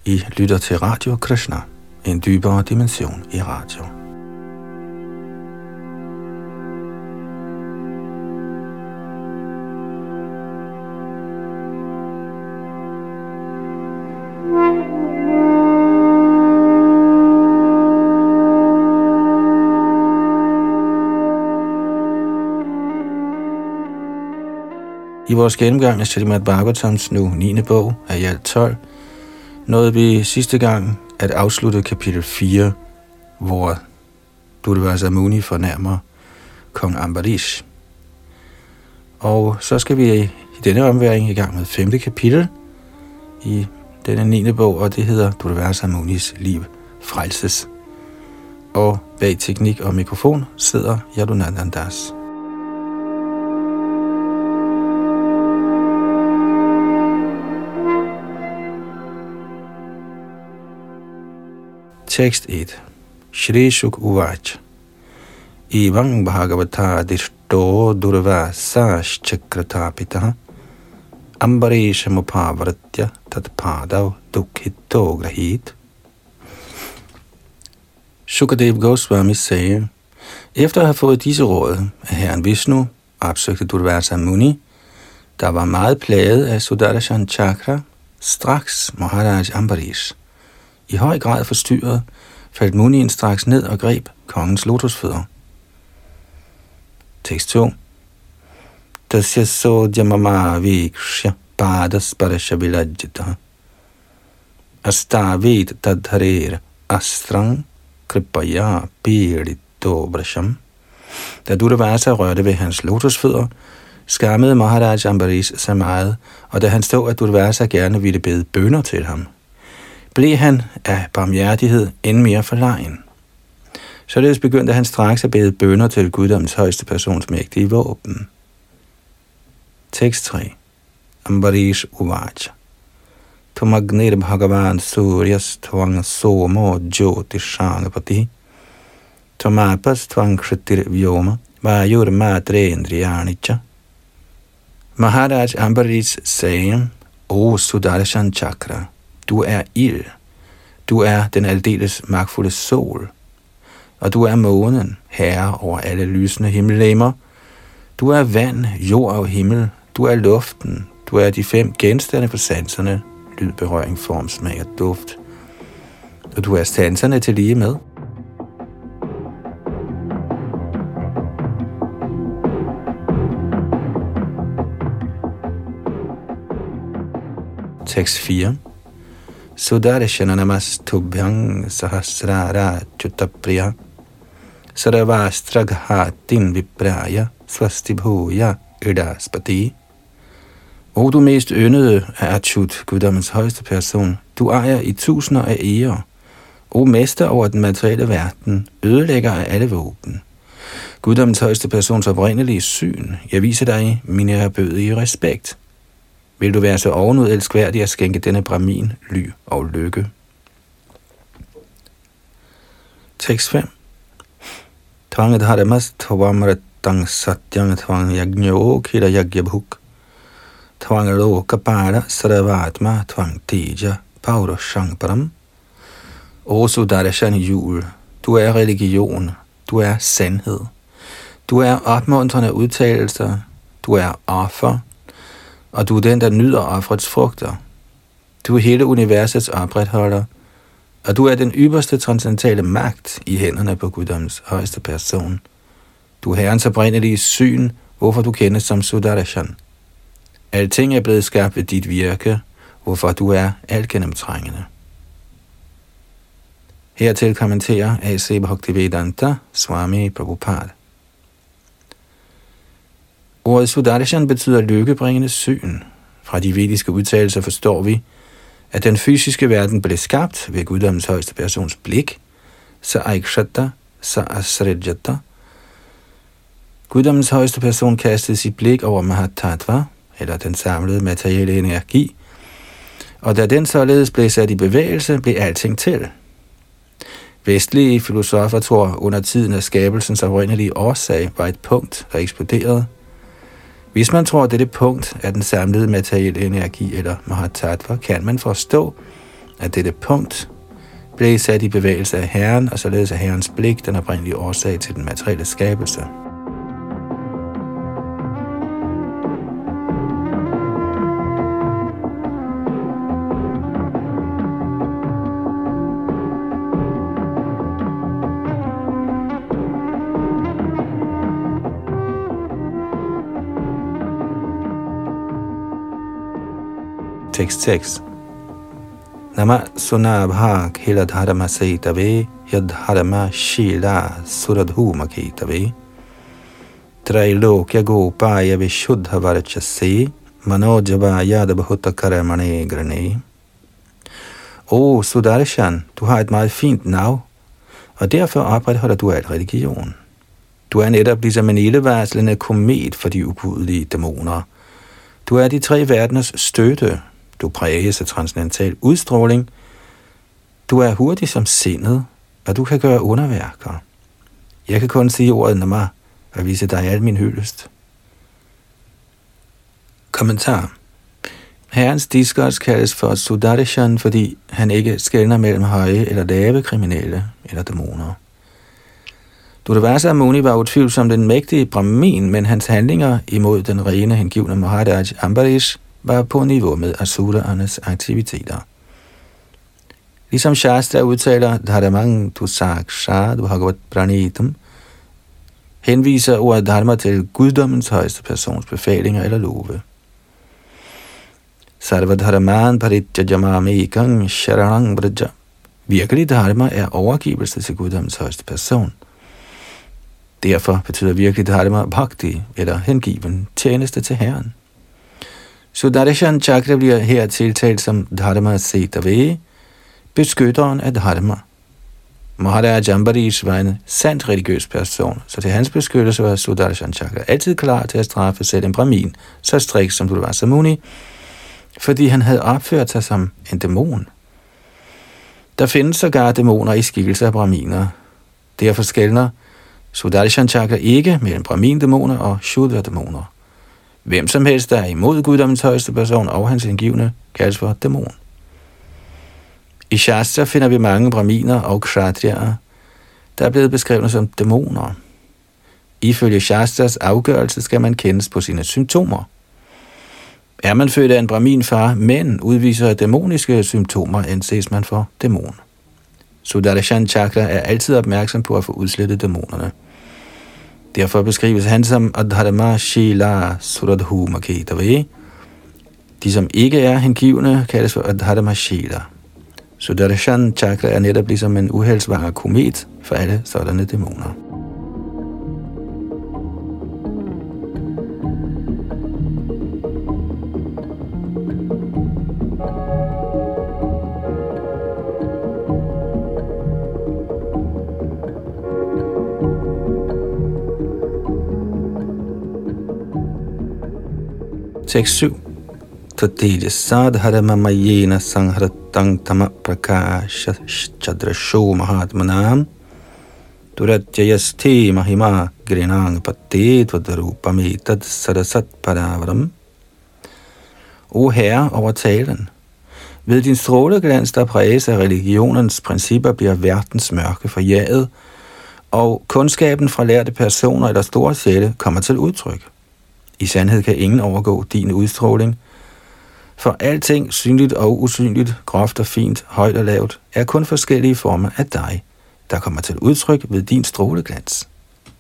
I lytter til Radio Krishna, en dybere dimension i radio. I vores gennemgang af Srimad Bhagavatams nu 9. bog af i alt 12, nåede vi sidste gang at afslutte kapitel 4, hvor Durvasa Muni fornærmer kong Ambarish. Og så skal vi i denne omværing i gang med 5. kapitel i denne 9. bog, og det hedder Durvasa Munis liv frelses. Og bag teknik og mikrofon sidder Yadunandan Das. Tekst 1. Shri Shuk Uvach. Evang Bhagavata Dishto Durvasa Chakratapita Ambarish Mupavratya Tatpadav Dukhito Grahit. Shukadev Goswami sagde, efter at have fået disse råd af herren Vishnu, opsøgte Durvasa Muni, der var meget plaget af Sudarshan Chakra, straks Maharaj Ambarish. I høj grad forstyrret, faldt Munien straks ned og greb kongens lotusfødder. Tekst 2. Tasya sodyamama vikshya padas parasha vilajjita astavet tadharer astrang kripaya pidito vrasham. Da Durvasa rørte ved hans lotusfødder, skammede Maharaj Ambarish sig meget, og da han så, at Durvasa gerne ville bede bønner til ham, blev han af barmhjertighed end mere forlegen. Således begyndte han straks at bede bønner til guddommens højeste persons mægtige våben. Tekst 3. Ambarish Uvach. Tomagnir Bhagavan Suryas Tvang Somo Jyotishangapati Tomapas Tvang Kshatir Vyoma Vajur Madrendriyanicha. Maharaj Ambarish sagde, O Sudarshan Chakra, du er ild, du er den aldeles magtfulde sol, og du er månen, herre over alle lysende himmellegemer. Du er vand, jord og himmel, du er luften, du er de 5 genstande for sanserne, lyd, berøring, form, smag og duft, og du er sanserne til lige med. Tekst 4. Sudarshana namastubhyang sahasrara chutapriya sarvastraghatin vipraya swastibhuya idaspati. O du mest yndede af Achyut, guddommens højeste person, du ejer i tusinder af ærer. O mester over den materielle verden, ødelægger af alle våben. Guddommens højeste persons oprindelige syn, jeg viser dig min ærbødige respekt. Vil du være så ovenud elskværdig at skænke denne brahmin ly og lykke? Tekst 5. Tvanget haramas tvamratang satyang tvang yagnyo kira yagyabhuk tvang lokapara saravatma tvang teja pauroshang param. O Sudarshan jul, du er religion, du er sandhed, du er opmuntrende udtalelser, du er offer, og du er den, der nyder offerets frugter. Du er hele universets opretholder, og du er den ypperste transcendentale magt i hænderne på guddommens højeste person. Du er herrens oprindelige syn, hvorfor du kendes som Sudarshan. Alting er blevet skabt ved dit virke, hvorfor du er altgennemtrængende. Hertil kommenterer A.C. Bhaktivedanta Swami Prabhupada. Ordet Sudarshan betyder lykkebringende syn. Fra de vediske udtalelser forstår vi, at den fysiske verden blev skabt ved guddommens højeste persons blik, sa aikshata, sa asrejata. Guddommens højeste person kastede sit blik over Mahatattva, eller den samlede materielle energi, og da den således blev sat i bevægelse, blev alting til. Vestlige filosofer tror under tiden, at skabelsens oprindelige årsag var et punkt, der eksploderede. Hvis man tror, at dette punkt er den samlede materielle energi eller Mahatattva, kan man forstå, At dette punkt blev sat i bevægelse af Herren, og således er Herrens blik den oprindelige årsag til den materielle skabelse. Tekst 6. Nama sunabha khila dharma saitave yadharma shila suradhuma kitave trailokya gopaya vishuddha varachase manojava yadabhuta karamane grane. Sudarshan, du har et meget fint navn, og derfor opretholder du al religion. Du er netop ligesom en ildevarslende komet for de ugudelige dæmoner. Du er de tre verdeners støtte. Du præges af transcendental udstråling. Du er hurtig som sindet, og du kan gøre underværker. Jeg kan kun sige ordet Nama og vise dig al min hyldest. Kommentar. Herrens diskers kaldes for Sudarshan, fordi han ikke skelner mellem høje eller lave kriminelle eller dæmoner. Durvasa Muni var utvivlsomt den mægtige Brahmin, men hans handlinger imod den rene hengivne Maharaj Ambarish var på niveau med asuraernes aktiviteter. Ligesom Shastra udtaler Dharmang tu saksha du bhagavat pranitam, henviser ordet dharma til guddommens højeste persons befalinger eller love. Sarva dharman paritjajamamekang sharanang braja. Virkelig dharma er overgivelse til guddommens højeste person. Derfor betyder virkelig dharma bhakti, eller hengiven tjeneste til Herren. Sudarshan Chakra bliver her tiltalt som Dharma Setave, beskytteren af Dharma. Maharaj Ambarish var en sandt religiøs person, så til hans beskyttelse var Sudarshan Chakra altid klar til at straffe selv en brahmin, så striks som Durvasa Muni, fordi han havde opført sig som en dæmon. Der findes sågar dæmoner i skikkelse af brahminer. Derfor skelner Sudarshan Chakra ikke mellem brahmin-dæmoner og shudra-dæmoner. Hvem som helst, der er imod guddommens højeste person og hans hengivne, kaldes for dæmon. I Shastra finder vi mange brahminer og kshatriyaer, der er blevet beskrevet som dæmoner. Ifølge Shastras afgørelse skal man kendes på sine symptomer. Er man født af en brahminfar, men udviser dæmoniske symptomer, anses man for dæmon. Sudarshan Chakra er altid opmærksom på at få udslettet dæmonerne. Derfor beskrives han som Adharma Shila Suradhuma Ketave. De, som ikke er hengivne, kaldes for Adharma Shila. Sudarshan Chakra er netop ligesom en uheldsvanger komet for alle sådanne dæmoner. Tekst 7. Tatteja sadharama mayena sanghratang tama prakasha chadrasho mahatmanam duratyayaste mahima grinang patet vadarupamedad sarasat paravaram. O Herre over talen, ved din stråleglans, der præges af religionens principper, bliver verdens mørke forjaget, og kundskaben fra lærte personer eller store sjæle kommer til udtryk. I sandhed kan ingen overgå din udstråling, for alting, synligt og usynligt, groft og fint, højt og lavt, er kun forskellige former af dig, der kommer til udtryk ved din stråleglans.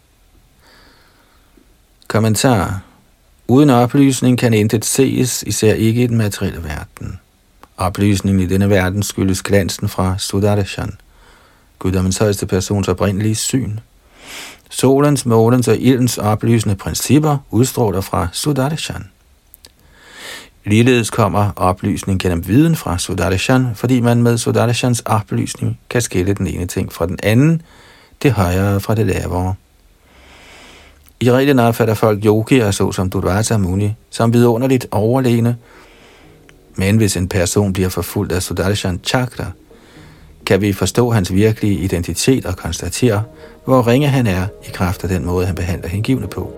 Kommentar. Uden oplysning kan intet ses, især ikke i den materielle verden. Oplysningen i denne verden skyldes glansen fra Sudarshan, guddommens højeste persons oprindelige syn. Solens, målens og ildens oplysende principper udstråler fra Sudarshan. Ligeledes kommer oplysning gennem viden fra Sudarshan, fordi man med Sudarshans oplysning kan skille den ene ting fra den anden, det højere fra det lavere. I reglen opfatter folk yogier såsom Durvasa Muni som vidunderligt overlegne, men hvis en person bliver forfulgt af Sudarshan Chakra, kan vi forstå hans virkelige identitet og konstatere, hvor ringe han er i kraft af den måde, han behandler hengivne på.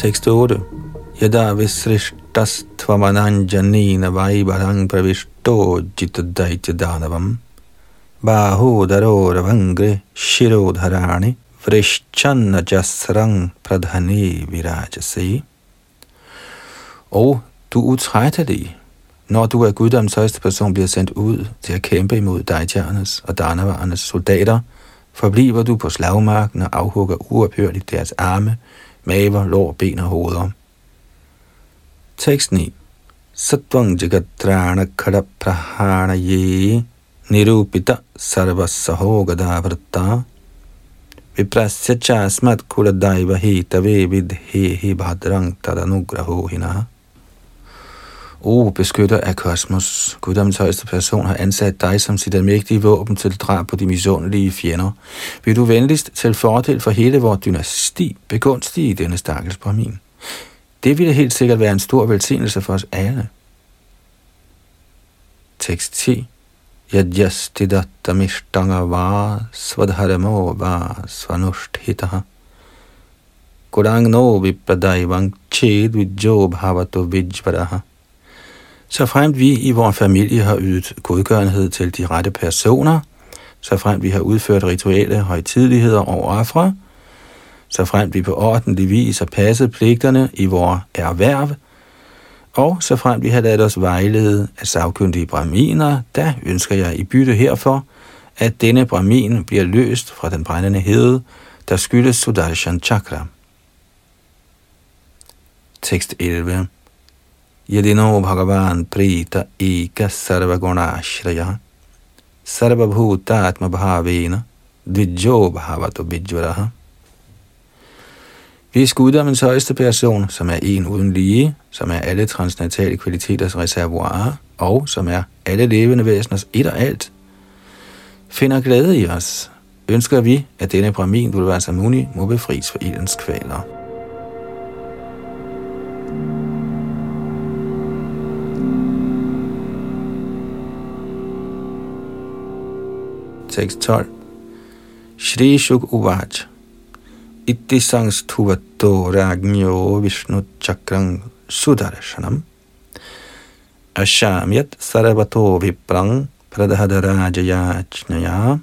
Tekst 8. Yada visrishtas tvamananjanina vaibarang pravishto jitadaitya danavam bahodaro ravangre shirodharani vrishchanna jasrang pradhani virajase. Og du er utrættelig, når du af guddommens højeste person bliver sendt ud til at kæmpe imod Daityaernes og Danavaernes soldater, forbliver du på slagmarken og afhugger uophørligt deres arme, maver, lår, ben og hoveder. Tekst 9. Sattvang jagatrana kadaprahana ye nirupita sarvasahogadha vrata viprasya chasmat kuladaiva hitave vidhehi bhadrang tadanugraho hinaha. Beskytter af kosmos, guddommens højeste person har ansat dig som sit almægtige våben til drab på de misundelige fjender. Vil du venligst til fordel for hele vores dynasti begunstige denne stakkels Brahmin? Det ville helt sikkert være en stor velsignelse for os alle. Tekst 10. Yadyastidattamishtangava svadharamo va svanusthitaha Kodangno vipradayvang ched vidjo bhavato vijvaraha. Så fremt vi i vores familie har ydet godgørenhed til de rette personer, så fremt vi har udført rituelle højtideligheder og ofre, så fremt vi på ordentlig vis har passet pligterne i vores erhverv, og så fremt vi har ladet os vejlede af sagkyndige brahminer, der ønsker jeg i bytte herfor, at denne brahmin bliver løst fra den brændende hede, der skyldes Sudarshan Chakra. Tekst 11. Yadino Bhagavan Prita Eka Sarvaguna-shraya Sarvabhutatma Bhavena Dvijjo Bhavato Vijvaraha. Hvis guddommens højeste person, som er en uden lige, som er alle transcendentale kvaliteters reservoirer, og som er alle levende væseners et og alt, finder glæde i os, ønsker vi, at denne Brahmin Durvasa Muni må befries for ildens kvaler. Tekst 12. Shri Shuk Uvaj Itti Sangstuvato Ragnyo Vishnu Chakrang Sudarshanam Ashamyat Sarvato Viprang Pradhadarajayajnaya.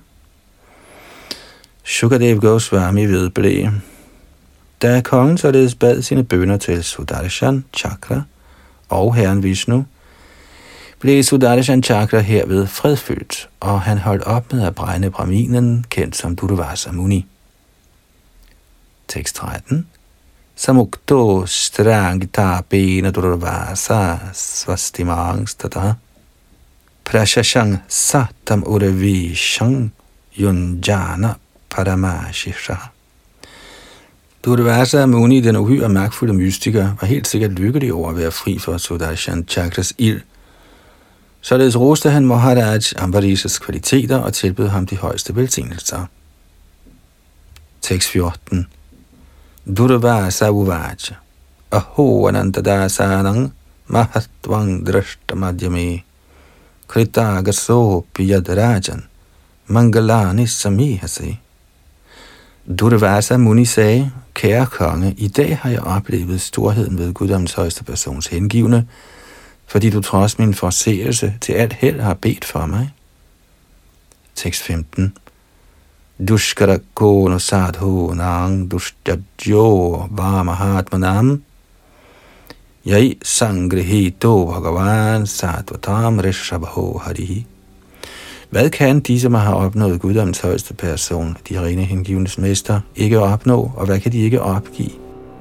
Shukadev Goswami vedblev. Da kongen således bad sine bønner til Sudarshan Chakra og herren Vishnu, blev Sudarshan Chakra herved fredfyldt, og han holdt op med at brænde Brahminen, kendt som Durvasa Muni. Tekst 13. Samukto strangita pena Durvasa svastimangstata prashashang satam uravishang yunjana paramashisha. Durvasa Muni, den uhyre magtfulde mystiker, var helt sikkert lykkelig over at være fri for Sudarshan Chakras ild. Således roste han Maharaj Ambarishes kvaliteter og tilbød ham de højeste velsignelser. Tekst 14. Durvasa Uvaj Aho Anantadasanang Mahatvang Drashtamadhyame Kritagaso Piyadarajan Mangalani Samihase. Durvasa Muni sagde: Kære konge, i dag har jeg oplevet storheden ved guddommens højeste persons hengivne, fordi du trods min forseelse til alt held har bedt for mig. Tekst 15. Dushkara kono sadho nang dushtadjo vamahatmanam yai sangrihito bhagavan sadvatam rishabho harihi. Hvad kan de, som har opnået guddommens højeste person, de rene hengivnes mester, ikke opnå, og hvad kan de ikke opgive?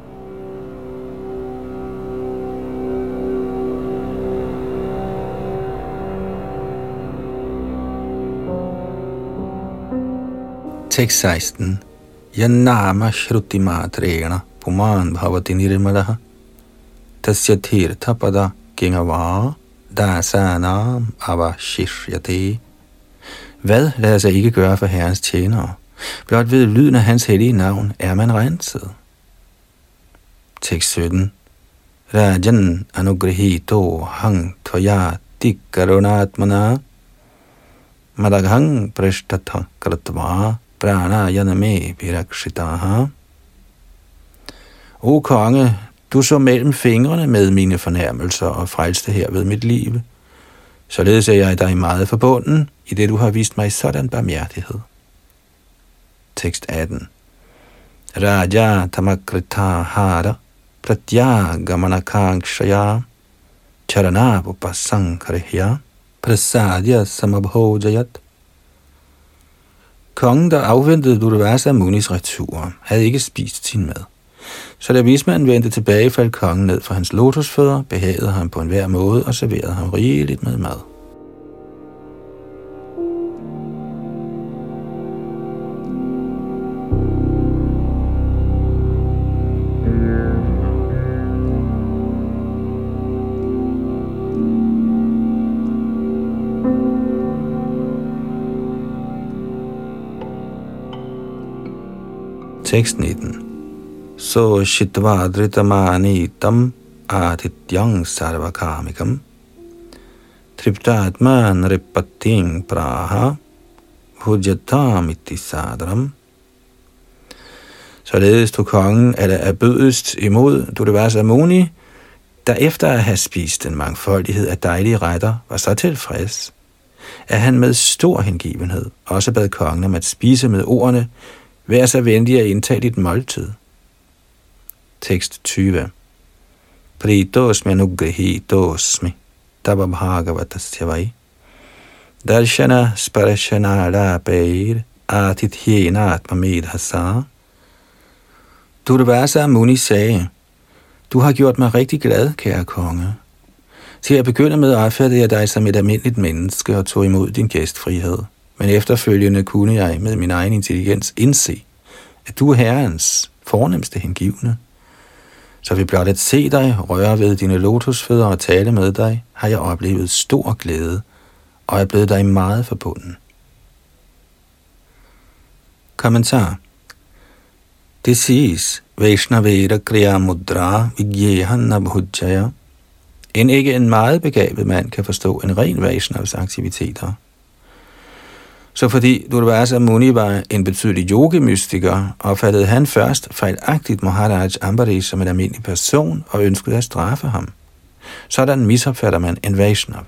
Tekst 16. Yanama shruti matrena puman bhavati nirmalaha tasya tirtha pada gengava dasanam avashishyate. Hvad lader sig ikke gøre for Herrens tjenere? Blot ved lyden af hans hellige navn er man renset. Tekst 17. Rajan anugrihito hang tvaya tikkarunatmana madaghang prishtatha kratva pranayaname virakshitaha. O konge, Du så mellem fingrene med mine fornærmelser og frelste herved mit liv. Således er jeg dig meget forbunden, i det du har vist mig sådan barmhjertighed. Tekst 18. Raja tamakrita hara pratyagamanakangshaya charanapupasankarihya prasadya samabhojayat. Kongen, der afventede Durvasa Munis retur, havde ikke spist sin mad. Så da vismanden vendte tilbage, faldt kongen ned fra hans lotusfødder, behagede ham på enhver måde og serverede ham rigeligt med mad. Tekst 19. So shitva dhritamanitam atityang sarvakamikam triptatman ripating praha bhujatam iti sadram. Således tog kongen af bødest imod Durvasa Muni, der efter at have spist en mangfoldighed af dejlige retter, var så tilfreds, at han med stor hengivenhed også bad kongen om at spise med ordene: vær så venlig at indtage dit måltid. Tekst 20. Pritosmi anugrihitosmi tababhagavatasya darshana sparashana lapair atithyena atmamedhasa. Durvasa Muni sagde: du har gjort mig rigtig glad, kære konge. Til at begynde med opfattede jeg dig som et almindeligt menneske og tog imod din gæstfrihed. Men efterfølgende kunne jeg med min egen intelligens indse, at du er Herrens fornemste hengivne. Så ved blot at se dig, røre ved dine lotusfødder og tale med dig, har jeg oplevet stor glæde, og er blevet dig meget forbunden. Kommentar. Det siges, Vaishnaveda Kriya Mudra Vigyehan Nabhujaya. End ikke en meget begavet mand kan forstå en ren Vaishnavs aktiviteter. Så fordi Durvasa Muni var en betydelig yogi-mystiker, opfattede han først fejlagtigt Maharaj Ambarish som en almindelig person og ønskede at straffe ham. Sådan misopfatter man en Vaishnav.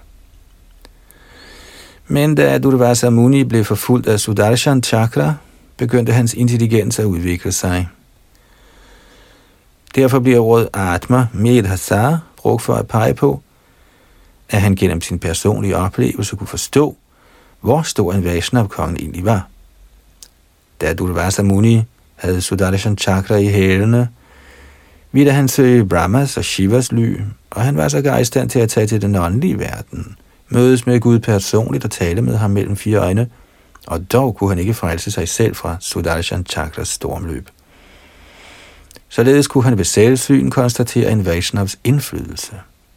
Men da Durvasa Muni blev forfulgt af Sudarshan Chakra, begyndte hans intelligens at udvikle sig. Derfor bliver ordet Atma Medhasa brugt for at pege på, at han gennem sin personlige oplevelse kunne forstå, hvor stor en Vaishnav-kongen egentlig var. Da Durvasa Muni havde Sudarshan Chakra i hælene, ville han søge Brahmas og Shivas ly, og han var sågar i stand til at tage til den åndelige verden, mødes med Gud personligt og tale med ham mellem 4 øjne, og dog kunne han ikke frelse sig selv fra Sudarshan Chakras stormløb. Således kunne han ved selvsyn konstatere en Vaishnavs indflydelse.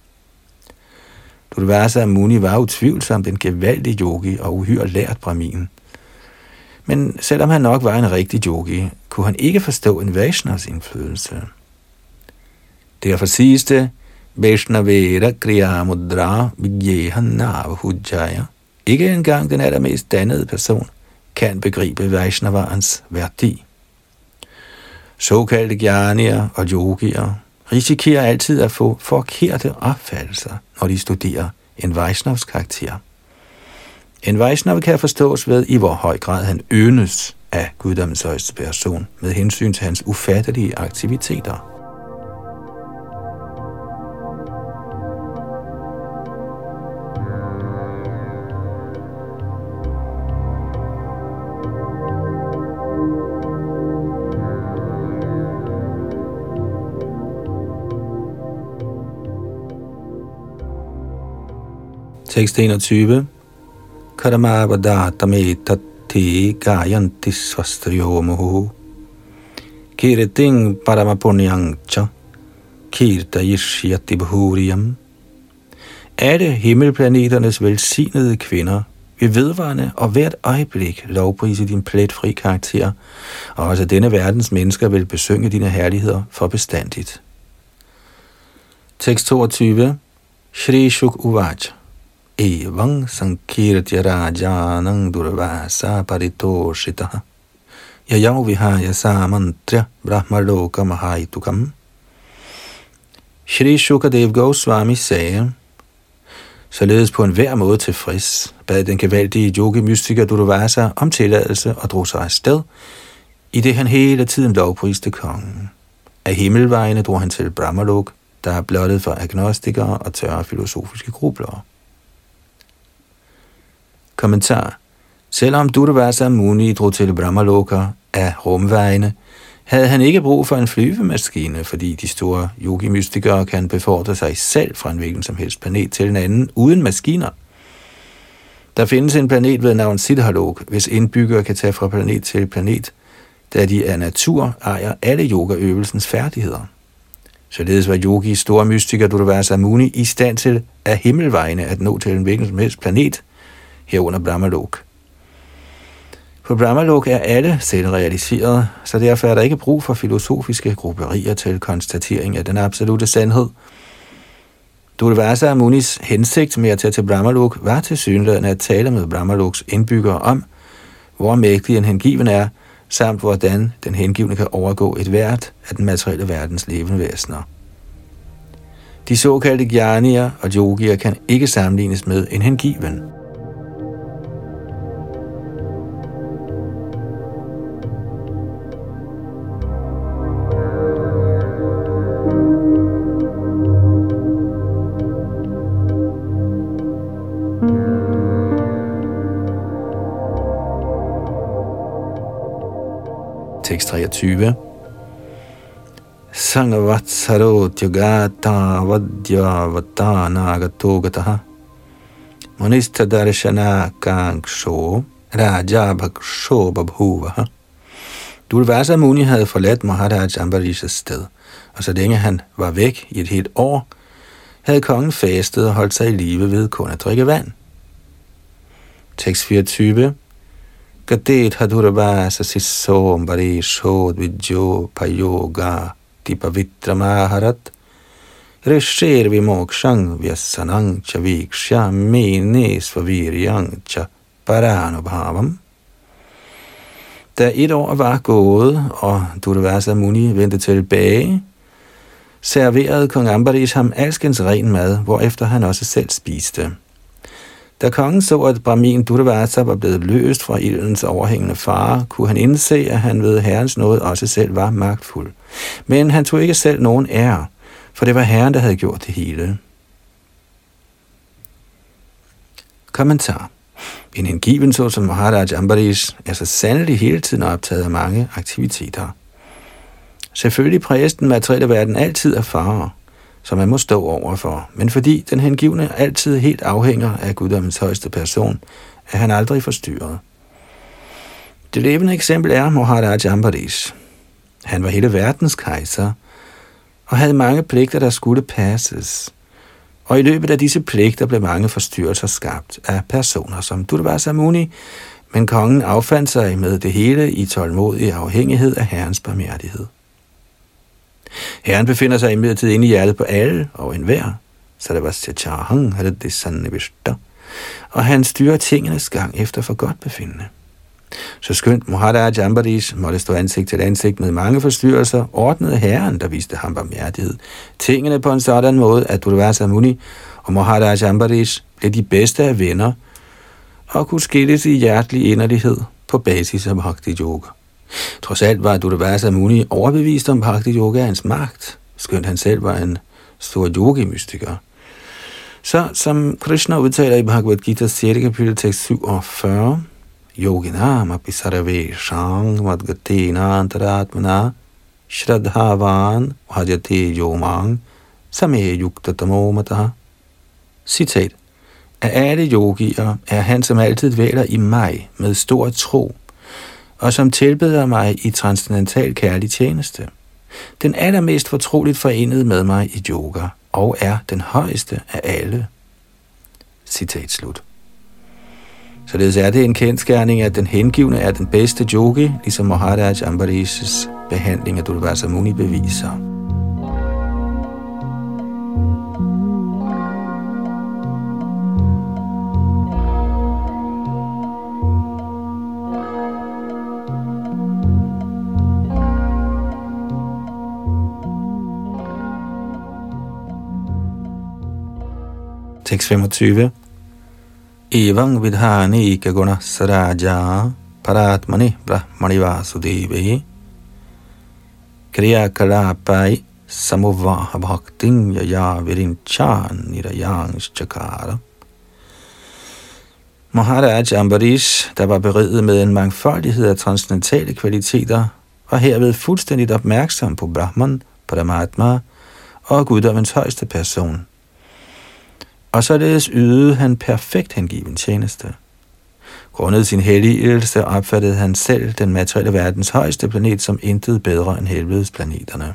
Durvasa Muni var utvivlsomt en gevaldig yogi og uhyre lært brahmin. Men selvom han nok var en rigtig yogi, kunne han ikke forstå en Vaishnavs indflydelse. Derfor siges det, Vaishnaveda Kriya Mudra Vigyehan Nabhujaya. Ikke engang den allermest dannede person kan begribe Vaishnavarens værdi. Såkaldte jnanier og yogier risikerer altid at få forkerte opfattelser, når de studerer en Vaishnavs karakter. En Vaishnav kan forstås ved, i hvor høj grad han yndest af guddommens højeste person, med hensyn til hans ufattelige aktiviteter. Tekst 21. Karamavadattame tatti gayanti svastriyomuhu kiriting paramapunyangcha kirtayishyati bhuriyam. Alle himmelplaneternes velsignede kvinder vil vedvarende og hvert øjeblik lovprise din pletfri karakter, og også denne verdens mennesker vil besynge dine herligheder for bestandigt. Tekst 22. Shri Shuk Uvaj Evang sankirtya rajanang durvasa paritoshitaha yayav vihaya samantrya brahmaloka mahaitukam. Shri Shukadev Goswami sagde, således på enhver måde tilfreds, bad den gevaldige yogi-mystiker Durvasa om tilladelse og drog sig afsted, i det han hele tiden lovpriste kongen. Af himmelvejene drog han til Brahmalok, der er blottet for agnostikere og tørre filosofiske grublere. Kommentar. Selvom Durvasa Muni drog til Brahmaloka af rumvejene, havde han ikke brug for en flyvemaskine, fordi de store yogi-mystikere kan befordre sig selv fra en hvilken som helst planet til en anden uden maskiner. Der findes en planet ved navn Siddhalok, hvis indbyggere kan tage fra planet til planet, da de af natur ejer alle yogaøvelsens færdigheder. Således var yogis store mystiker Durvasa Muni i stand til af himmelvejene at nå til en hvilken som helst planet, herunder Brahmalok. På Brahmalok er alle selvrealiserede, så derfor er der ikke brug for filosofiske grupperier til konstatering af den absolute sandhed. Durvasa Munis hensigt med at tage til Brahmalok var tilsyneladende at tale med Brahmaloks indbyggere om, hvor mægtig en hengiven er, samt hvordan den hengivne kan overgå et hvert af den materielle verdens levende væsener. De såkaldte jnanier og yogier kan ikke sammenlignes med en hengiven. Tekst 23. Sangavatsaro tyagata vadya vatana gatogataha monista darshana kangsho raja bhaksho babhuvaha. Durvasa Muni havde forladt Maharaj Ambarishas sted, og så længe han var væk i et helt år, havde kongen fastet og holdt sig i live ved kun at drikke vand. Tekst 24. Gadet hadurvasa sisom barisho dvidjo payoga dipavitra maharat risher vimokshang vyasanang cha vikshya mene svaviryang cha paranubhavam. Da et år var gået, og Durvasa Muni vendte tilbage, serverede kong Ambarish ham alskens ren mad, hvorefter han også selv spiste. Da kongen så, at Brahmin Durvasa var blevet løst fra ildens overhængende fare, kunne han indse, at han ved herrens nåde også selv var magtfuld. Men han tog ikke selv nogen ære, for det var herren, der havde gjort det hele. Kommentar. En hengiven såsom Maharaj Ambarish er så sandelig hele tiden optaget af mange aktiviteter. Selvfølgelig præges den materielle verden altid af farer, som man må stå overfor, men fordi den hengivne altid helt afhænger af guddommens højeste person, er han aldrig forstyrret. Det levende eksempel er Maharaj Ambarish. Han var hele verdens kejser, og havde mange pligter, der skulle passes. Og i løbet af disse pligter blev mange forstyrrelser skabt af personer som Durvasa Muni, men kongen affandt sig med det hele i tålmodig afhængighed af herrens barmhjertighed. Herren befinder sig imidlertid inde i hjertet på alle og enhver, så det var Sachahang, havde det sande vishta, og han styrer tingenes gang efter for godt befindende. Så skønt Maharaj Ambarish måtte stå ansigt til ansigt med mange forstyrrelser, ordnede herren, der viste ham barmhjertighed, tingene på en sådan måde, at Durvasa Muni og Maharaj Ambarish blev de bedste af venner og kunne skilles i hjertelig inderlighed på basis af Bhakti Yoga. Trods alt var Durvasa Muni overbevist om Bhakti Yogaens magt, skønt han selv var en stor yogi-mystiker. Så som Krishna udtaler i Bhagavad Gita 6. kapitel tekst 47, Yoginam apisarave shang madgatena antaratmana shraddhavan bhajate yomang same yuktatamo mataha. Citat. Af alle yogier er han, som altid dvæler i mig med stor tro, og som tilbeder mig i transcendental kærlig tjeneste. Den allermest fortroligt forenet med mig i yoga, og er den højeste af alle. Citat slut. Således er det en kendsgerning, at den hengivne er den bedste yogi, ligesom Maharaj Ambarishs behandling af Durvasa Muni beviser. Tekst 25. Evang vidhani kaguna saraja paratmani brahmani vasudevi kriya kalapai samuvaha bhakting yaya virinchan nirayangs chakara. Maharaj Ambarish, der var beriget med en mangfoldighed af transcendentale kvaliteter, var herved fuldstændigt opmærksom på Brahman, Paramatma og guddommens højeste person. Og således ydede han perfekt hengiven tjeneste. Grundet sin helligelse opfattede han selv den materielle verdens højeste planet som intet bedre end helvedesplaneterne.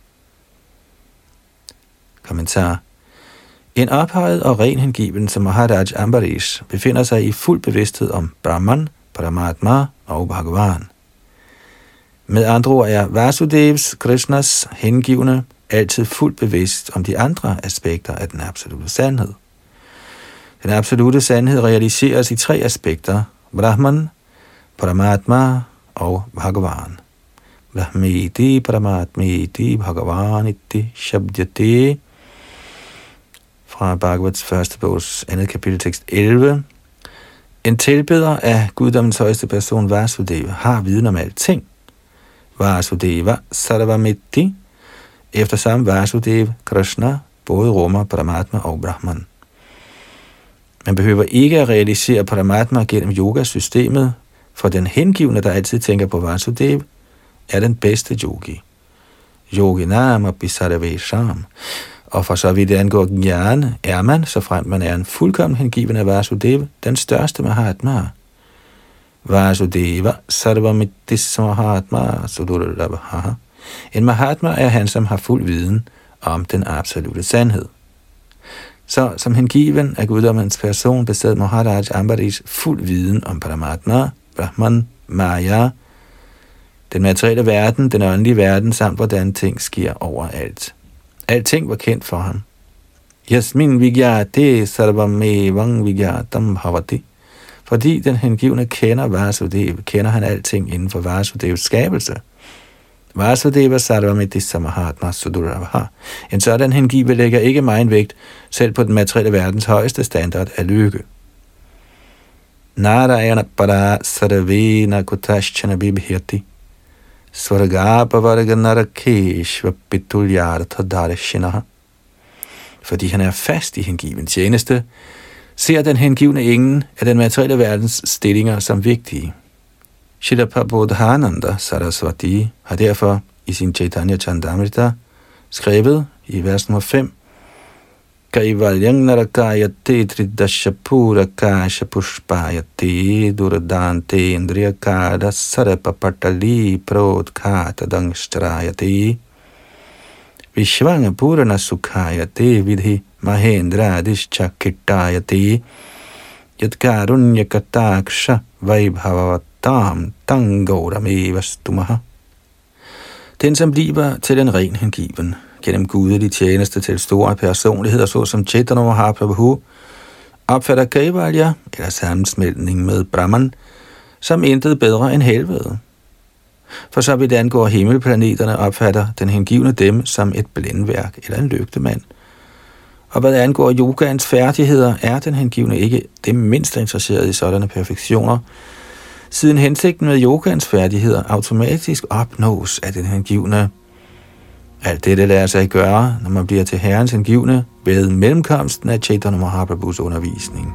Kommentar. En ophøjet og ren hengiven som Maharaj Ambarish befinder sig i fuld bevidsthed om Brahman, Paramatma og Bhagavan. Med andre ord er Vasudevs, Krishnas hengivne altid fuldt bevidst om de andre aspekter af den absolute sandhed. Den absolute sandhed realiseres i 3 aspekter: Brahman, Paramatma og Bhagavan. Brahmeti, Paramatmeti, Bhagavaniti, Shabdyate. Fra Bhagavats første bogs 2. kapitel, tekst 11. En tilbeder af guddommens højeste person, Vasudeva, har viden om alting. Vasudeva Sarvamiti, efter samme Vasudeva, Krishna, både rummer Paramatma og Brahman. Man behøver ikke at realisere Paramatma gennem yogasystemet, for den hengivne, der altid tænker på Vasudeva, er den bedste yogi. Yoginam api sarvesham. Og for så vidt det angår jnana, er man, såfremt man er en fuldkommen hengiven af Vasudeva, den største Mahatma. Vasudeva sarvamitis Mahatma sudurlabha. En Mahatma er han, som har fuld viden om den absolute sandhed. Så som hengiven af guddommens person besad Maharaj Ambarish fuld viden om Paramatma, Brahman, Maya, den materielle verden, den åndelige verden, samt hvordan ting sker overalt. Alting var kendt for ham. Yasmin vigyate sarvamevang vigyatam bhavati. Fordi den hengivne kender Vasudeva, kender han alting inden for Vasudevs skabelse. Vasudeva sarvamiti samahatma sudurabha. En sådan hengive lægger ikke meget vægt, selv på den materielle verdens højeste standard af lykke. Narayana para sarvena kutaschana bibhirti. Svargapavarga narakeshva pitulyartha darshinaha. Fordi han er fast i hengiven tjeneste, ser den hengivne ingen af den materielle verdens stillinger som vigtige. Srila Prabodhananda Saraswati har derfor i sin Chaitanya Chandamrita skrevet i vers nummer 5: Kaivalyang narakayate tridashapura kasha pushpayate duradante indriyakada sarapapatali prodkata dangstrayate vishvanga purana sukhayate vidhi mahendra dishchakitayate yadkarunyakataksha vaibhavatam tangauramevastumah. Den, som bliver til den ren hengiven, gennem gudelig tjeneste til store personligheder, såsom Chaitanya Mahaprabhu, opfatter Kaivalya, eller sammensmeltning med Brahman, som intet bedre end helvede. For så vidt angår himmelplaneterne, opfatter den hengivne dem som et blændværk eller en lygtemand. Og hvad angår yogaens færdigheder, er den hengivne ikke det mindst interesseret i sådanne perfektioner, siden hensigten med yogaens færdigheder automatisk opnås af den hengivne. Alt dette lader sig gøre, når man bliver til Herrens hengivne ved mellemkomsten af Chaitanya Mahaprabhus undervisning.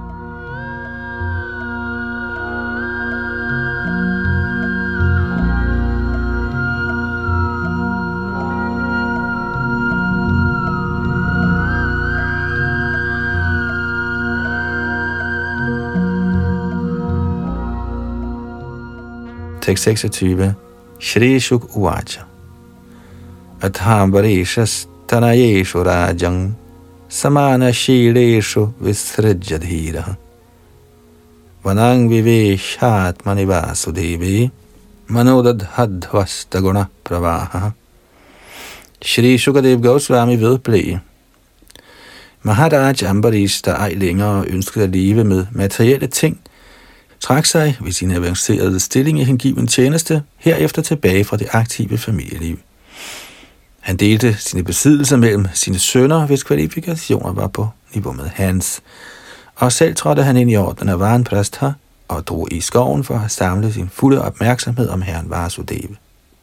Tekst 26. Shri Shuk Uvacha Athambarishas tanayeshu rajang samana shileshu visrajadhira vanang viveshat manivasudevi manodadhadvastaguna pravaha. Shri Shukadev Goswami vedblev: Maharaj Ambarish, der ej længere ønskede at leve med materielle ting, trak sig ved sin avancerede stilling i hengiven tjeneste herefter tilbage fra det aktive familieliv. Han delte sine besiddelser mellem sine sønner, hvis kvalifikationer var på kropsniveau med hans, og selv trådte han ind i ordenen af Vanprastha og drog i skoven for at samle sin fulde opmærksomhed om herren Vasudeva.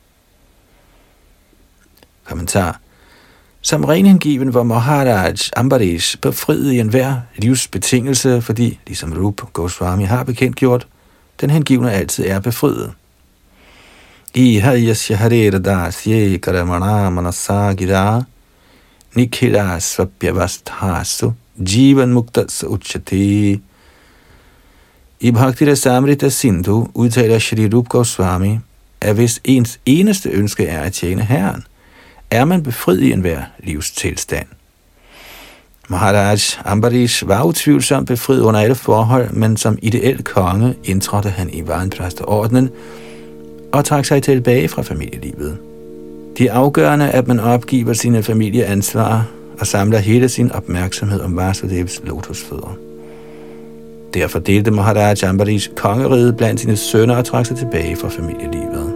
Kommentar. Som renhengiven var Maharaj Ambarish befriet i enhver livsbetingelse, fordi, ligesom Rupa Goswami har bekendtgjort, den hengivne altid er befriet. Iha yasya harera dasye karamana manasagira nikhila svapyavasthasu jivan muktas uchati. I Bhakti Rasamrita Sindhu udtaler Shri Rupa Goswami, at hvis ens eneste ønske er at tjene Herren, er man befriet i enhver livstilstand. Maharaj Ambarish var utvivlsomt befriet under alle forhold, men som ideel konge indtrådte han i Vanprastha-ordenen og trak sig tilbage fra familielivet. Det er afgørende, at man opgiver sine familieansvar og samler hele sin opmærksomhed om Vasudevs lotusfødder. Derfor delte Maharaj Ambarish kongeriget blandt sine sønner og trak sig tilbage fra familielivet.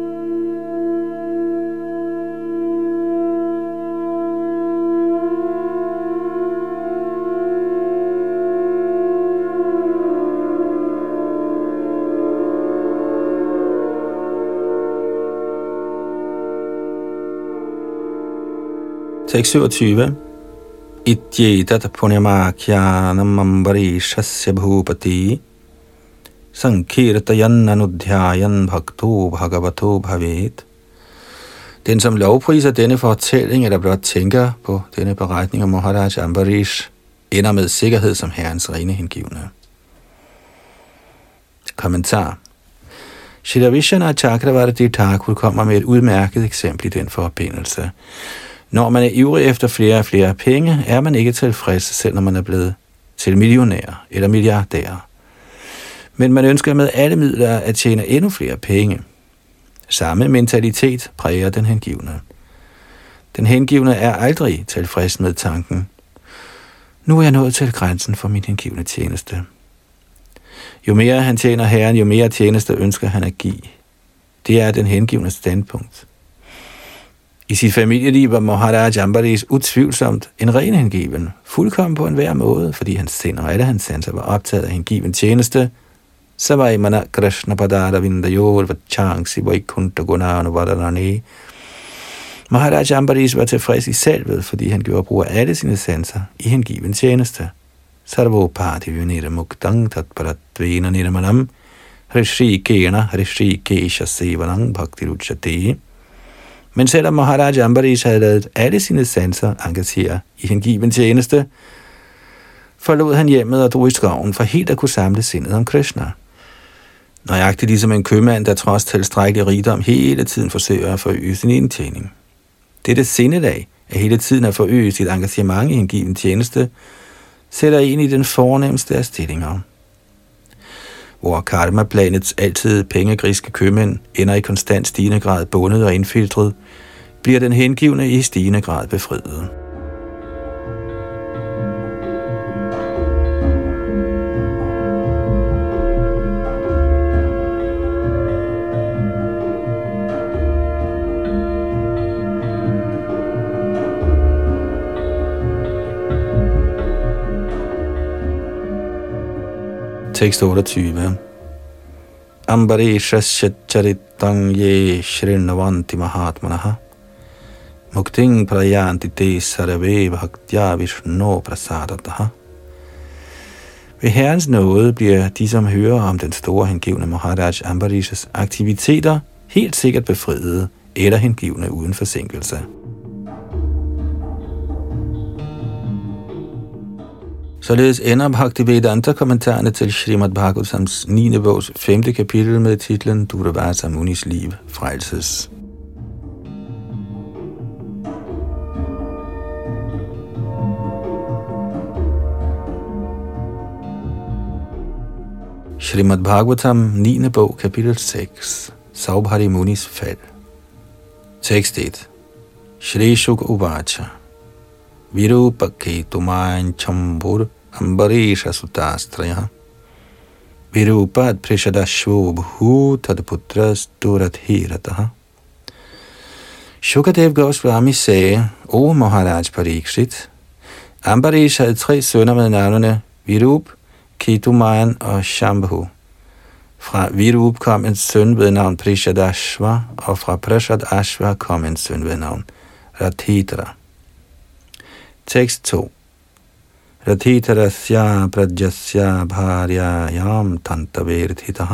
Tekst 27. Ityetat punyamakyanam ambarishasya bhupati sankirtayan anudhyayan bhakto bhagavato bhavet. Den, som lovpriser denne fortælling, eller blot tænker på denne beretning om Maharaj Ambarish, ender med sikkerhed som herrens rene hengivne. Kommentar. Shri Vishwanath Chakravarti Thakur kommer med et udmærket eksempel i den forbindelse. Når man er ivrig efter flere og flere penge, er man ikke tilfreds, selv når man er blevet til millionær eller milliardær. Men man ønsker med alle midler at tjene endnu flere penge. Samme mentalitet præger den hengivne. Den hengivne er aldrig tilfreds med tanken: nu er jeg nået til grænsen for min hengivne tjeneste. Jo mere han tjener Herren, jo mere tjeneste ønsker han at give. Det er den hengivne standpunkt. I sit familieliv var Maharaj Ambarish utvivlsomt en ren hengiven, fuldkommen på enhver måde, fordi hans sind og alle hans sanser var optaget af hengiven tjeneste. Savai mana krishna padara vindayor vachangsi vaikunta gunanu varanani. Maharaj Ambarish var tilfreds i selvet, fordi han gjorde brug af alle sine sanser i hengiven tjeneste. Sarvopati vinira muktang tatparatvena nirmanam hrishikena hrishikesha sevanang bhaktiruchate. Men selvom Maharaj Ambarish havde ladet alle sine sanser engagere i hengiven tjeneste, forlod han hjemmet og drog i skoven for helt at kunne samle sindet om Krishna. Nøjagtigt ligesom en købmand, der trods tilstrækkelig rigdom hele tiden forsøger at forøge sin indtjening. Dette sindelag, at hele tiden at forøge sit engagement i hengiven tjeneste, sætter en i den fornemmeste af stillinger. Hvor karma-planets altid pengegriske købmænd ender i konstant stigende grad bundet og indfiltret, bliver den hengivne i stigende grad befriet. Tekst 28. Ambarishasya charitang ye shrinavanti mahatmanaha mukting prayanti te sarve bhaktya vishnu prasadataha. Ved Herrens nåde bliver de, som hører om den store hengivne Maharaj Ambarishas aktiviteter, helt sikkert befriede eller hengivne uden forsinkelse. Således ender Bhaktivedanta-kommentarerne til Srimad Bhagavatams 9. bogs 5. kapitel med titlen Durvasa Munis liv frelses. Srimad Bhagavatam 9. bog kapitel 6. Saubhari Munis fald. Tekst 1. Shri Shuka Uvacha Virupaketumain chambur ambarisha sutastraya Virupat prishadashvo bhu tadputras duradhirataha. Shukadev Goswami sagde: O Maharaj Parikshit, Ambarish havde 3 sønner med navnene Virup, Ketumayan og Shambhu. Fra Virup kom en søn ved navn Prishadashva, og fra Prishadashva kom en søn ved navn Rathitra. Tekst 2. Rathitrasya prajasya bharyayam tantaverthitaha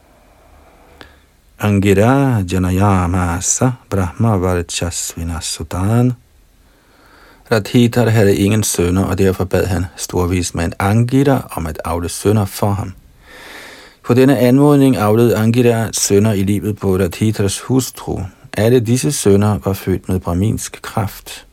Angira janayamasa brahma varchasvinasutan. Rathitra havde ingen sønner, og derfor bad han storvismand Angira om at avle sønner for ham. På denne anmodning avlede Angira sønner i livet på Rathitras hustru. Alle disse sønner var født med brahminsk kraft.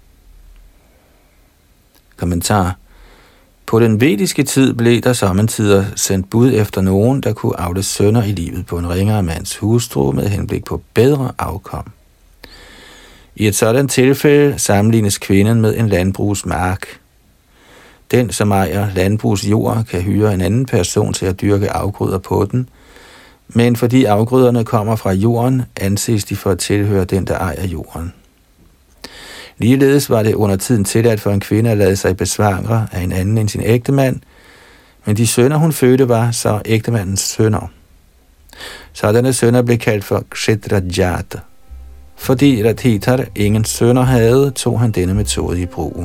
Kommentar. På den vediske tid blev der samtidig sendt bud efter nogen, der kunne avle sønner i livet på en ringere mands hustru med henblik på bedre afkom. I et sådan tilfælde sammenlignes kvinden med en landbrugsmark. Den, som ejer landbrugsjord, kan hyre en anden person til at dyrke afgrøder på den, men fordi afgrøderne kommer fra jorden, anses de for at tilhøre den, der ejer jorden. Ligeledes var det under tiden tilladt for en kvinde at lade sig besvangre af en anden end sin ægtemand, men de sønner, hun fødte, var så ægtemandens sønner. Sådanne sønner blev kaldt for kshetrajata. Fordi Rathitra ingen sønner havde, tog han denne metode i brug.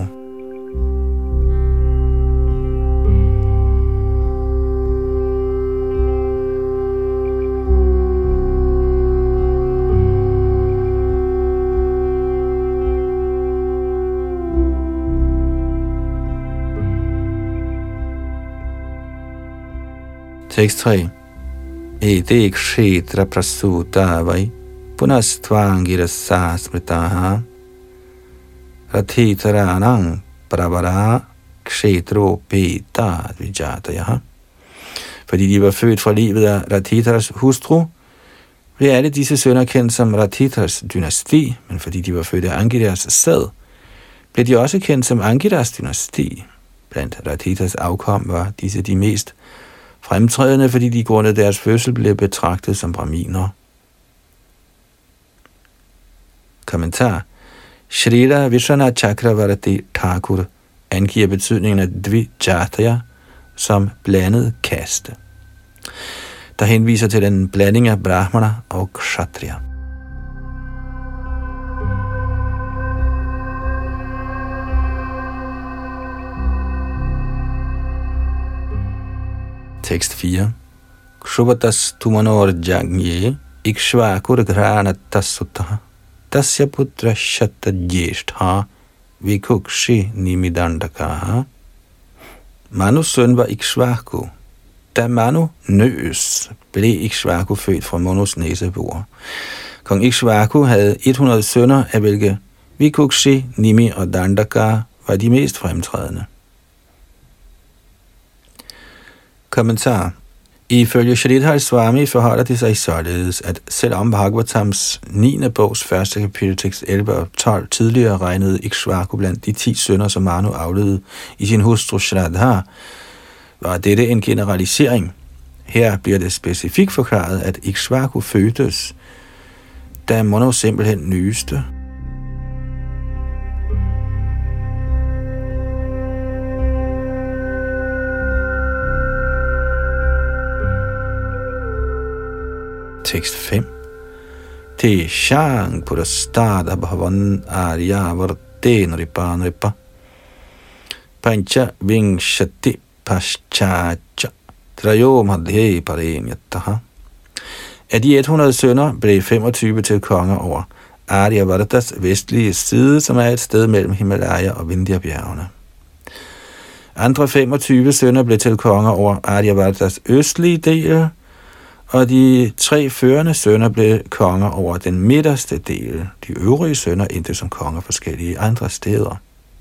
Tekst 3. Ede kshetra prasuta vai punastvangira sasmritaha Rathitranang pravara kshetro peta vijatayaha. Fordi de var født fra livet af Rathitras hustru, blev alle disse sønner kendt som Rathitras dynasti, men fordi de var født af Angiras sæd, blev de også kendt som Angiras dynasti. Blandt Rathitras afkom var disse de mest fremtrædende, fordi de grundet deres fødsel blev betragtet som brahminer. Kommentar. Shrila Vishwanath Chakravarti Thakur angiver betydningen af dvijataya som blandet kaste, der henviser til den blanding af brahmana og kshatriya. Tekst 4. Kshubatas tumanor jagye ikshvakur granatas sutaha tasya putra shatta jeshtha vikukshi nimidandakaha. Manus søn var Ikshvaku. Da Manu nøs, blev Ikshvaku født fra Manus næsebor. Kong Ikshvaku havde 100 sønner, af hvilke Vikukshi, Nimi og Dandaka var de mest fremtrædende. Kommentar. Ifølge Sridhar Swami forholder det sig således, at selvom Bhagavatams 9. bogs første kapitel tekst 11 og 12 tidligere regnede Ikshvaku blandt de 10 sønner, som Manu afledede i sin hustru Shraddha, var dette en generalisering. Her bliver det specifikt forklaret, at Ikshvaku fødtes, da Manu simpelthen nyeste. Tekst 5. Te shang purastada bhavan aryavarten nripa nripa pancha vingshati paschacha trayo madhye parenyataha. Af de 100 sønner blev 25 til konger over Aryavartas vestlige side, som er et sted mellem Himalaya og Vindhya-bjergene. Andre 25 sønner blev til konger over Aryavartas østlige del, og de 3 førende sønner blev konger over den midterste del. De øvrige sønner endte som konger forskellige andre steder.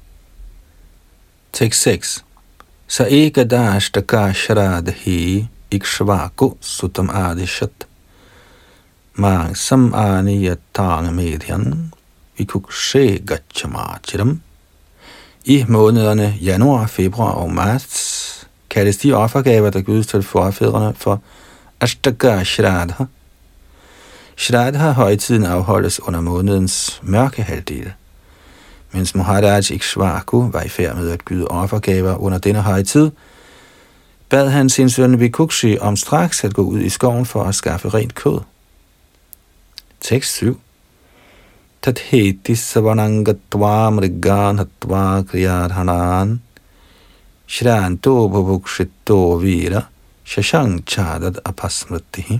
Tekst 6. Sa ekadashtaka shradhi ikshvaku sutam adishat mang sam aniyatang medhyan vikukshe gachamachiram. I månederne januar, februar og marts kaldes de offergaver, der gives til forfædrene, for Ashtaka Shraddha. Shraddha højtiden afholdes under månedens mørke halvdel. Mens Maharaj Ikshvaku var i færd med at gyde offergaver under denne højtid, bad han sin søn Vikukshi om straks at gå ud i skoven for at skaffe rent kød. Tekst 7. Tatheti savanangatva mrigan hatva kriyadhanan shranto bhuvukshito vira shashang chadat apasmritihi.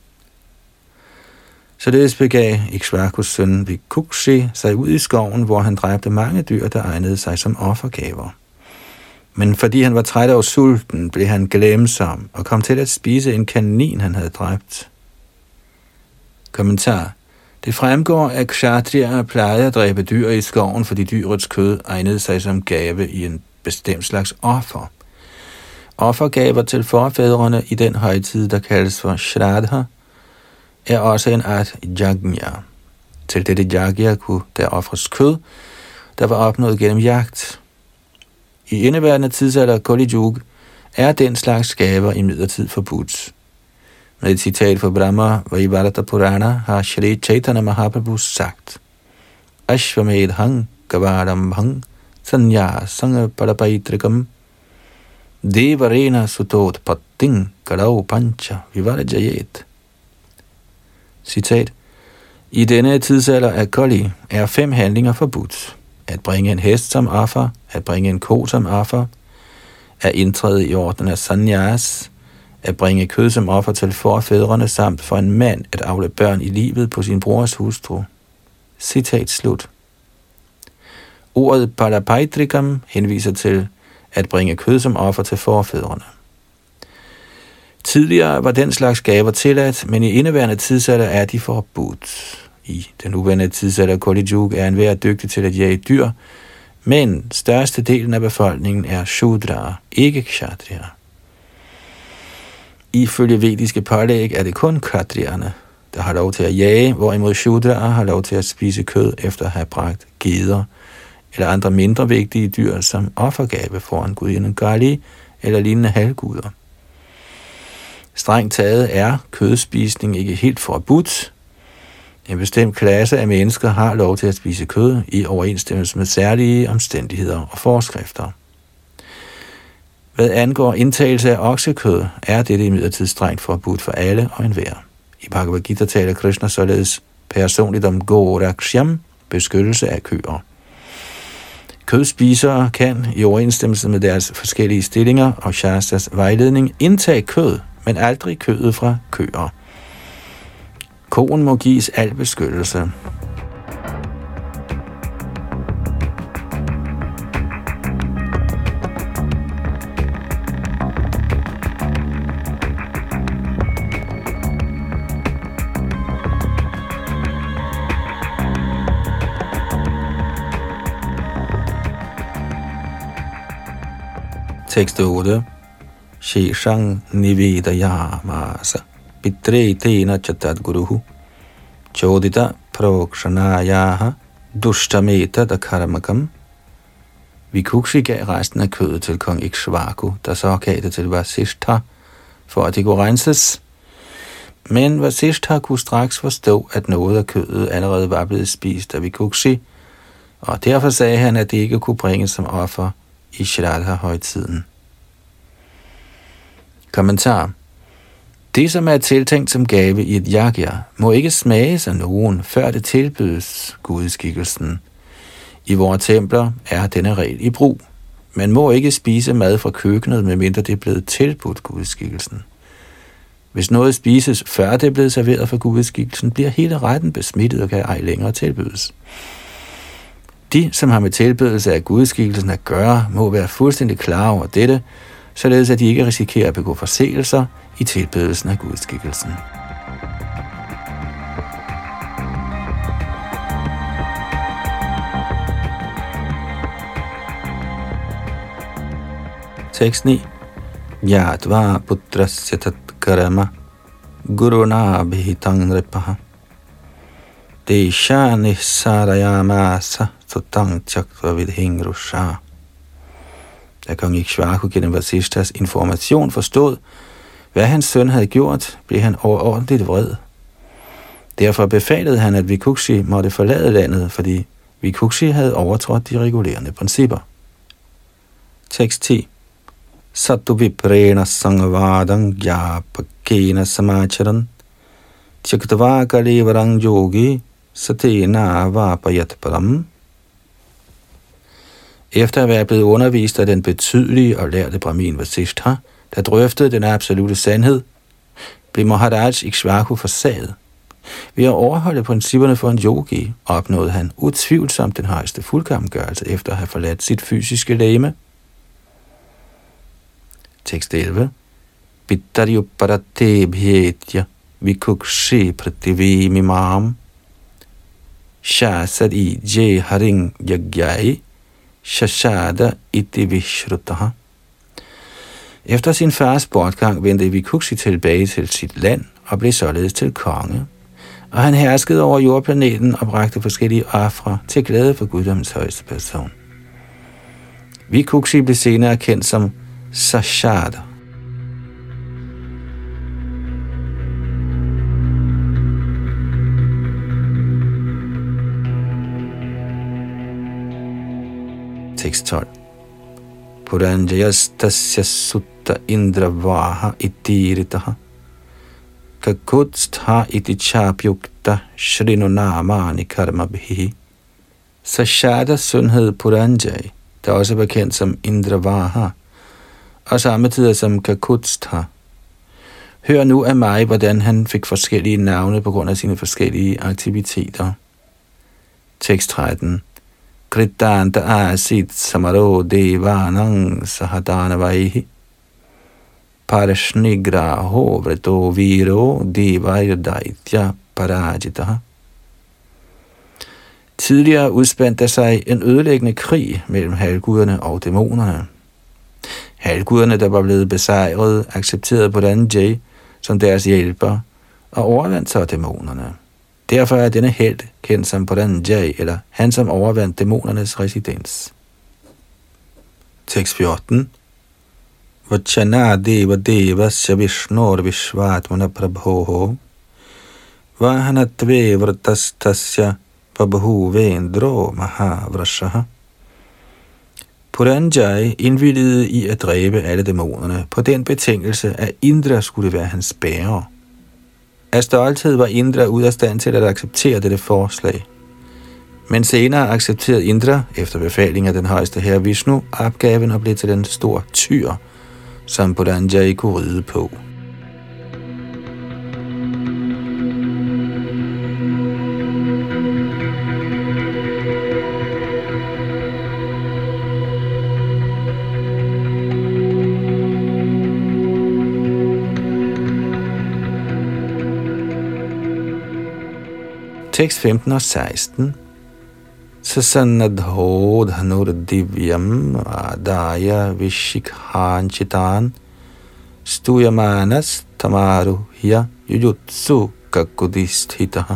Således begav Ikshvakus søn Vikukshi sig ud i skoven, hvor han dræbte mange dyr, der egnede sig som offergaver. Men fordi han var træt af sulten, blev han glemsom og kom til at spise en kanin, han havde dræbt. Kommentar. Det fremgår, at kshatriyer plejede at dræbe dyr i skoven, fordi dyrets kød egnede sig som gave i en bestemt slags offer. Offergaver til forfædrene i den højtid, der kaldes for shraddha, er også en art yajna. Til dette yajna kunne der ofres kød, der var opnået gennem jagt. I indeværende tidsalder Kali Yuga er den slags gaver imidlertid forbudt. Med et citat fra Brahma Vaivarta Purana har Shri Chaitanya Mahaprabhu sagt: Ashvamedhang Gavarambhang Sanya Sangha Parapaitrikam Devarena Sutot Patting Karau Pancha Vivarajayet. Citat: I denne tidsalder af Kali er 5 handlinger forbudt: at bringe en hest som offer, at bringe en ko som offer, at indtræde i orden af sannyas, at bringe kød som offer til forfædrene, samt for en mand at avle børn i livet på sin brors hustru. Citat slut. Ordet parapaitrikam henviser til at bringe kød som offer til forfædrene. Tidligere var den slags gaver tilladt, men i indeværende tidsalder er de forbudt. I den nuværende tidsalder Kali Yuga er enhver dygtig til at jage dyr, men størstedelen af befolkningen er shudra, ikke kshatriyer. Ifølge vediske pålæg er det kun kshatriyerne, der har lov til at jage, hvorimod shudra har lov til at spise kød efter at have bragt geder eller andre mindre vigtige dyr som offergave foran gudinden Kali eller lignende halvguder. Strengt taget er kødspisning ikke helt forbudt. En bestemt klasse af mennesker har lov til at spise kød i overensstemmelse med særlige omstændigheder og forskrifter. Hvad angår indtagelse af oksekød, er dette imidlertid strengt forbudt for alle og enhver. I Bhagavad Gita taler Krishna således personligt om goraksham, beskyttelse af køer. Kødspisere kan i overensstemmelse med deres forskellige stillinger og Shastras vejledning indtage kød, men aldrig kødet fra køer. Koen må gives al beskyttelse. Tekst 8. Sheshang nivedayamasa pitre tena chatat guruhu chodita prokshanayaha dushtameta dakarmakam. Vikukshi gav resten af kødet til kong Ikshvaku, der så gav det til Vasishtha, for at det kunne renses. Men Vasishtha kunne straks forstå, at noget af kødet allerede var blevet spist af Vikukshi, og derfor sagde han, at det ikke kunne bringes som offer i Shraddha-højtiden. Kommentar. Det, som er tiltænkt som gave i et yajna, må ikke smages af nogen, før det tilbydes gudskikkelsen. I vores templer er denne regel i brug. Man må ikke spise mad fra køkkenet, medmindre det er blevet tilbudt gudskikkelsen. Hvis noget spises, før det er blevet serveret for gudskikkelsen, bliver hele retten besmittet og kan ej længere tilbydes. De, som har med tilbedelse af gudskikkelsen at gøre, må være fuldstændig klar over dette, således at de ikke risikerer at begå forseelser i tilbedelsen af gudskikkelsen. Tekst 9. Yadva putrasya tat karama guruna bhitang ripaha desha nissarayamasa sutang chakva vidhingrusha. Da kong Ikshvaku gennem Vasishthas information forstod, hvad hans søn havde gjort, blev han overordentligt vred. Derfor befalede han, at Vikukshi måtte forlade landet, fordi Vikukshi havde overtrådt de regulerende principper. Tekst 10. Sattu viprena sangvadang gyapakena samacharan tyaktava kalevarang yogi satena vapayat param. Efter at være blevet undervist af den betydelige og lærte Brahmin Vasishtha, der drøftede den absolute sandhed, blev Maharaj Ikshvaku forsaget. Ved at overholde principperne for en yogi, opnåede han utvivlsomt den højeste fuldkommengørelse efter at have forladt sit fysiske legeme. Tekst 11. Pittaryuparate bhyetya vikukshi prativimimam shasadi je haring yagyai shashada iti vishrutaha. Efter sin fars bortgang vendte Vikukshi tilbage til sit land og blev således til konge. Og han herskede over jordplaneten og bragte forskellige ofre til glæde for guddommens højeste person. Vikukshi blev senere kendt som Sashada. Tekst 12. Puranjayastasya sutta indravaha itiritaha kakutstha iti chapyukta shrinunamani karmabhihi. Sashadas søn hed Puranjay, der også var kendt som Indravaha, og samtidig som Kakutstha. Hør nu af mig, hvordan han fik forskellige navne på grund af sine forskellige aktiviteter. Tekst 13. Kritanta asit samaro devanang sahadanavaihi parashnigraho vrato viro devayadaitya parajitaha. Tidligere udspandt der sig en ødelæggende krig mellem halvguderne og dæmonerne. Halvguderne, der var blevet besejret, accepterede Puranjay som deres hjælper og overvandt så dæmonerne. Derfor er denne helt kendt som Puranjay, eller han som overvandt dæmonernes residens. Tekst 14. Vachana deva devasya vishnor vishvatmana prabhoho vahanatve vratastasya pabhu vendro mahavrashaha. Puranjay indvilligede i at dræbe alle dæmonerne på den betingelse, at Indra skulle være hans bærer. Af stolthed var Indra ude af stand til at acceptere dette forslag. Men senere accepterede Indra, efter befaling af den højeste herre Vishnu, opgaven og blev til den store tyr, som Puranjay kunne ride på. Tekst 15 og 16. Sasanadho dhanur divyam adaya vishikhanchitan stuyamanas tamaruhya yujutsu kakudisthitaha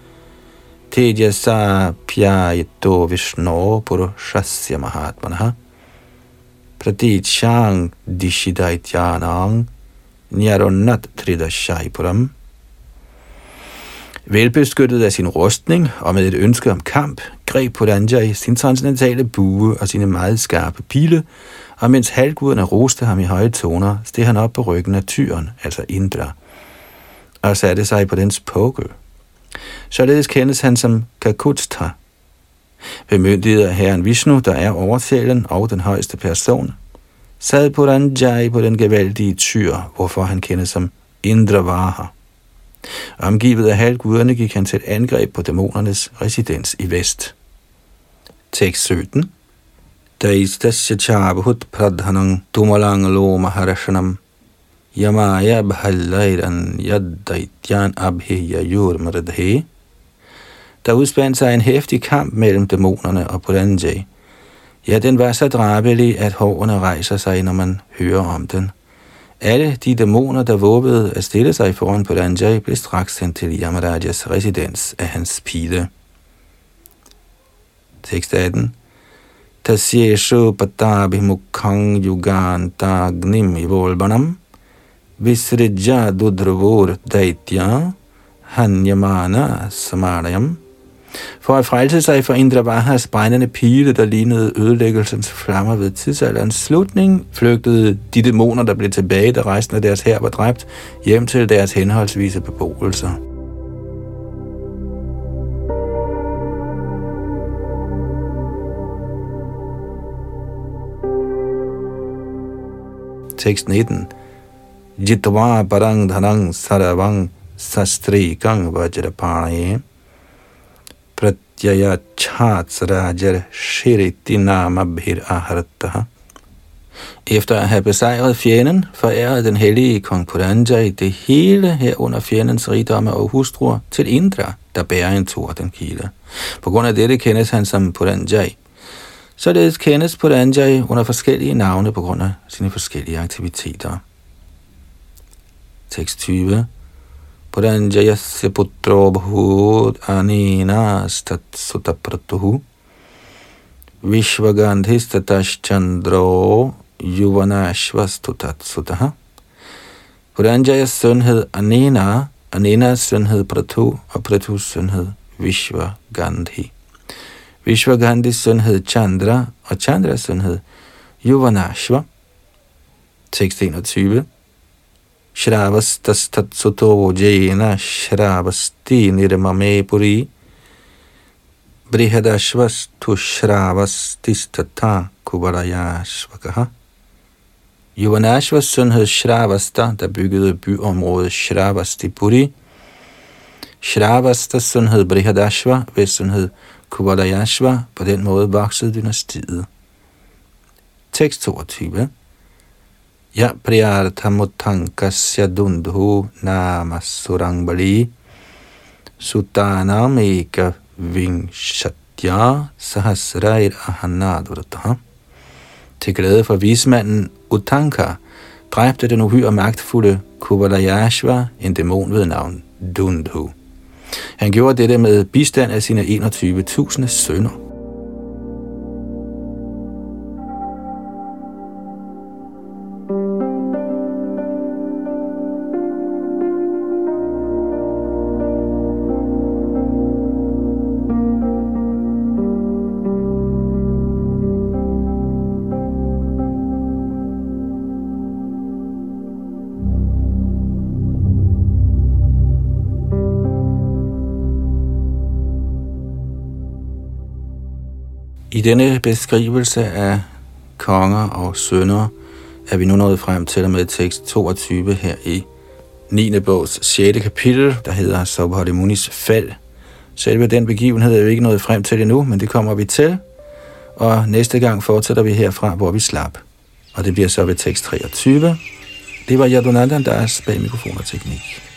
tejasa pyayito vishno purushasya mahatmanaha pratichyang dishidaityanang nyarunat tridashaipuram. Velbeskyttet af sin rustning og med et ønske om kamp, greb Puranjay sin transcendentale bue og sine meget skarpe pile, og mens halvguderne roste ham i høje toner, steg han op på ryggen af tyren, altså Indra, og satte sig på dens pukkel. Således kendes han som Kakutstha. Bemyndiget af herren Vishnu, der er overtalen og den højeste person, sad Puranjay på den gevaldige tyr, hvorfor han kendes som Indravaha. Omgivet af halvguderne gik han til et angreb på dæmonernes residens i vest. Tekst 17. Daistasya chabhut pradhanang tumalang lo maharashanam yamaya bhallairan yaddaityan abhiyayur mradhe. Der udspandt sig en heftig kamp mellem dæmonerne og Puranjay. Ja, den var så drabelig, at hårene rejser sig, når man hører om den. Alle de dæmoner, der våbede at stille sig foran Puranjay, blev straks sendt til Yamarajas residens af hans pile. Tekst 18. Tasyeshu patabhimukhang yugantagnim ivolbanam visrijya dudravur daitya hanyamana samarayam. For at frelse sig for Indravahas brændende pile, der lignede ødelæggelsens flammer ved tidsalderens slutning, flygtede de dæmoner, der blev tilbage, da resten af deres hær var dræbt, hjem til deres henholdsvise beboelser. Tekst 19. Jitva parang dhanang saravang sastrikang vajrapanaye pratyaya chatsrajar shiriti namabhir ahartaha. Efter at have besejret fjenden, forærede den hellige kong Puranjay det hele herunder fjendens rigdomme og hustruer til Indra, der bærer en tordenkilde. På grund af dette kendes han som Puranjay. Således kendes Puranjay under forskellige navne på grund af sine forskellige aktiviteter. Tekst 20. Puranjayasya putro bhut anina stat sutapratuhu Vishwagandhistatash chandro yuvanashvastutat sutaha. Puranjayas søn hed Anena, Anenas søn hed Prathu, og Prathus søn hed Vishwagandhi. Vishwagandhis søn hed Chandra, og Chandras søn hed Yuvanashva. Tekst 21. Shravastastat suto jena shravasti nirmame puri brihadashvastu shravastistata kuvarayashvakaha. Yuvanashvas søn hed Shravasta, der byggede byområdet Shravastipuri. Shravastas søn hed Brihadashva, hvis søn hed Kuvalayashva. På den måde voksede dynastiet. Tekst 22. Ja priyarthamutankasya dundhu namasurang sutanam eka vingshatya sahasrair ahanadvrataha. Til glæde for vismanden Utanka dræbte den uhyre magtfulde Kuvalayashva en dæmon ved navn Dundhu. Han gjorde dette med bistand af sine 21.000 sønner. I denne beskrivelse af konger og sønner er vi nu nået frem til med tekst 22 her i 9. bogs 6. kapitel, der hedder Saubhati Munis fald. Selve den begivenhed er jo ikke nået frem til endnu, men det kommer vi til. Og næste gang fortsætter vi herfra, hvor vi slap. Og det bliver så ved tekst 23. Det var Yadunandan Das bag mikrofon og teknik.